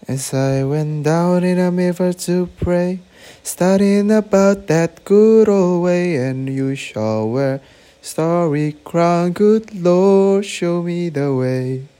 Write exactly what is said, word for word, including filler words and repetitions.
As I went down in a river to pray, studying about that good old way, and you shall wear starry crown, good Lord, show me the way.